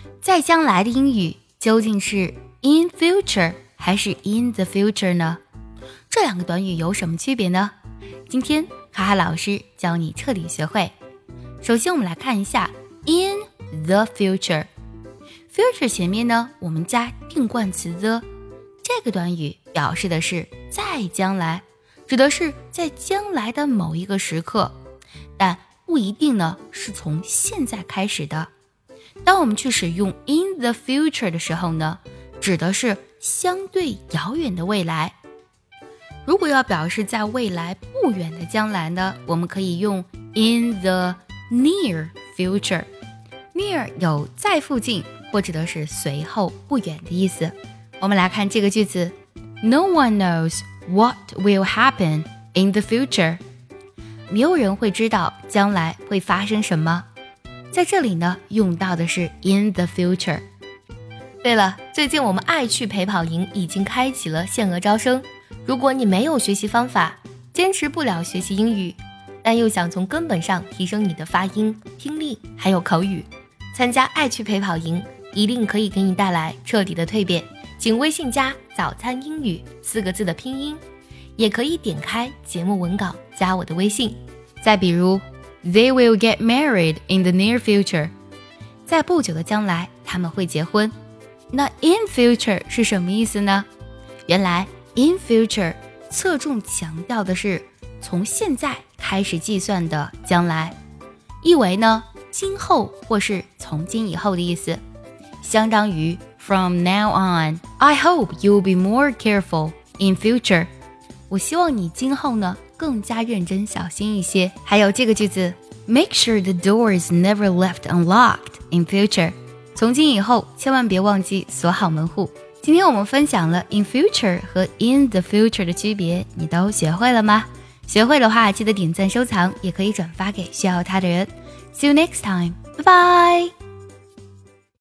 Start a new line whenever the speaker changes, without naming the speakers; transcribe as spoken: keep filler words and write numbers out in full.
在将来的英语究竟是 in future 还是 in the future 呢？这两个短语有什么区别呢？今天哈哈老师教你彻底学会。首先我们来看一下 in the future。 future 前面呢我们加定冠词 the， 这个短语表示的是在将来，指的是在将来的某一个时刻，但不一定呢是从现在开始的。当我们去使用 in the future 的时候呢，指的是相对遥远的未来。如果要表示在未来不远的将来呢，我们可以用 in the near future。 near 有在附近或指的是随后不远的意思。我们来看这个句子， No one knows what will happen in the future。 没有人会知道将来会发生什么。在这里呢用到的是 in the future。
对了，最近我们爱趣陪跑营已经开启了限额招生。如果你没有学习方法，坚持不了学习英语，但又想从根本上提升你的发音、听力还有口语，参加爱趣陪跑营一定可以给你带来彻底的蜕变。请微信加早餐英语四个字的拼音，也可以点开节目文稿加我的微信。
再比如 They will get married in the near future， 在不久的将来他们会结婚。那 in future 是什么意思呢？原来 in future 侧重强调的是从现在开始计算的将来，意为呢今后或是从今以后的意思，相当于 From now on I hope you'll be more careful in future。 我希望你今后呢更加认真小心一些。还有这个句子 Make sure the door is never left unlocked in future， 从今以后千万别忘记锁好门户。今天我们分享了 in future 和 in the future 的区别，你都学会了吗？学会的话记得点赞收藏，也可以转发给需要它的人。See you next time， 拜拜。